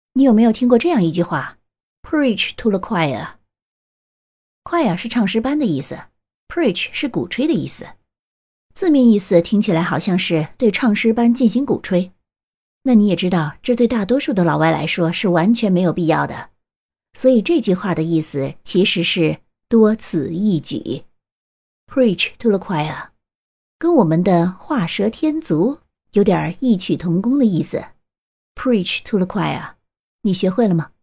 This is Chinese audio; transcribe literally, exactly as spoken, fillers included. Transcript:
你有没有听过这样一句话 ？Preach to the choir。choir 是唱诗班的意思 ，preach 是鼓吹的意思。字面意思听起来好像是对唱诗班进行鼓吹。那你也知道，这对大多数的老外来说是完全没有必要的。所以这句话的意思其实是多此一举。Preach to the choir， 跟我们的画蛇添足有点异曲同工的意思。Preach to the choir， 你学会了吗？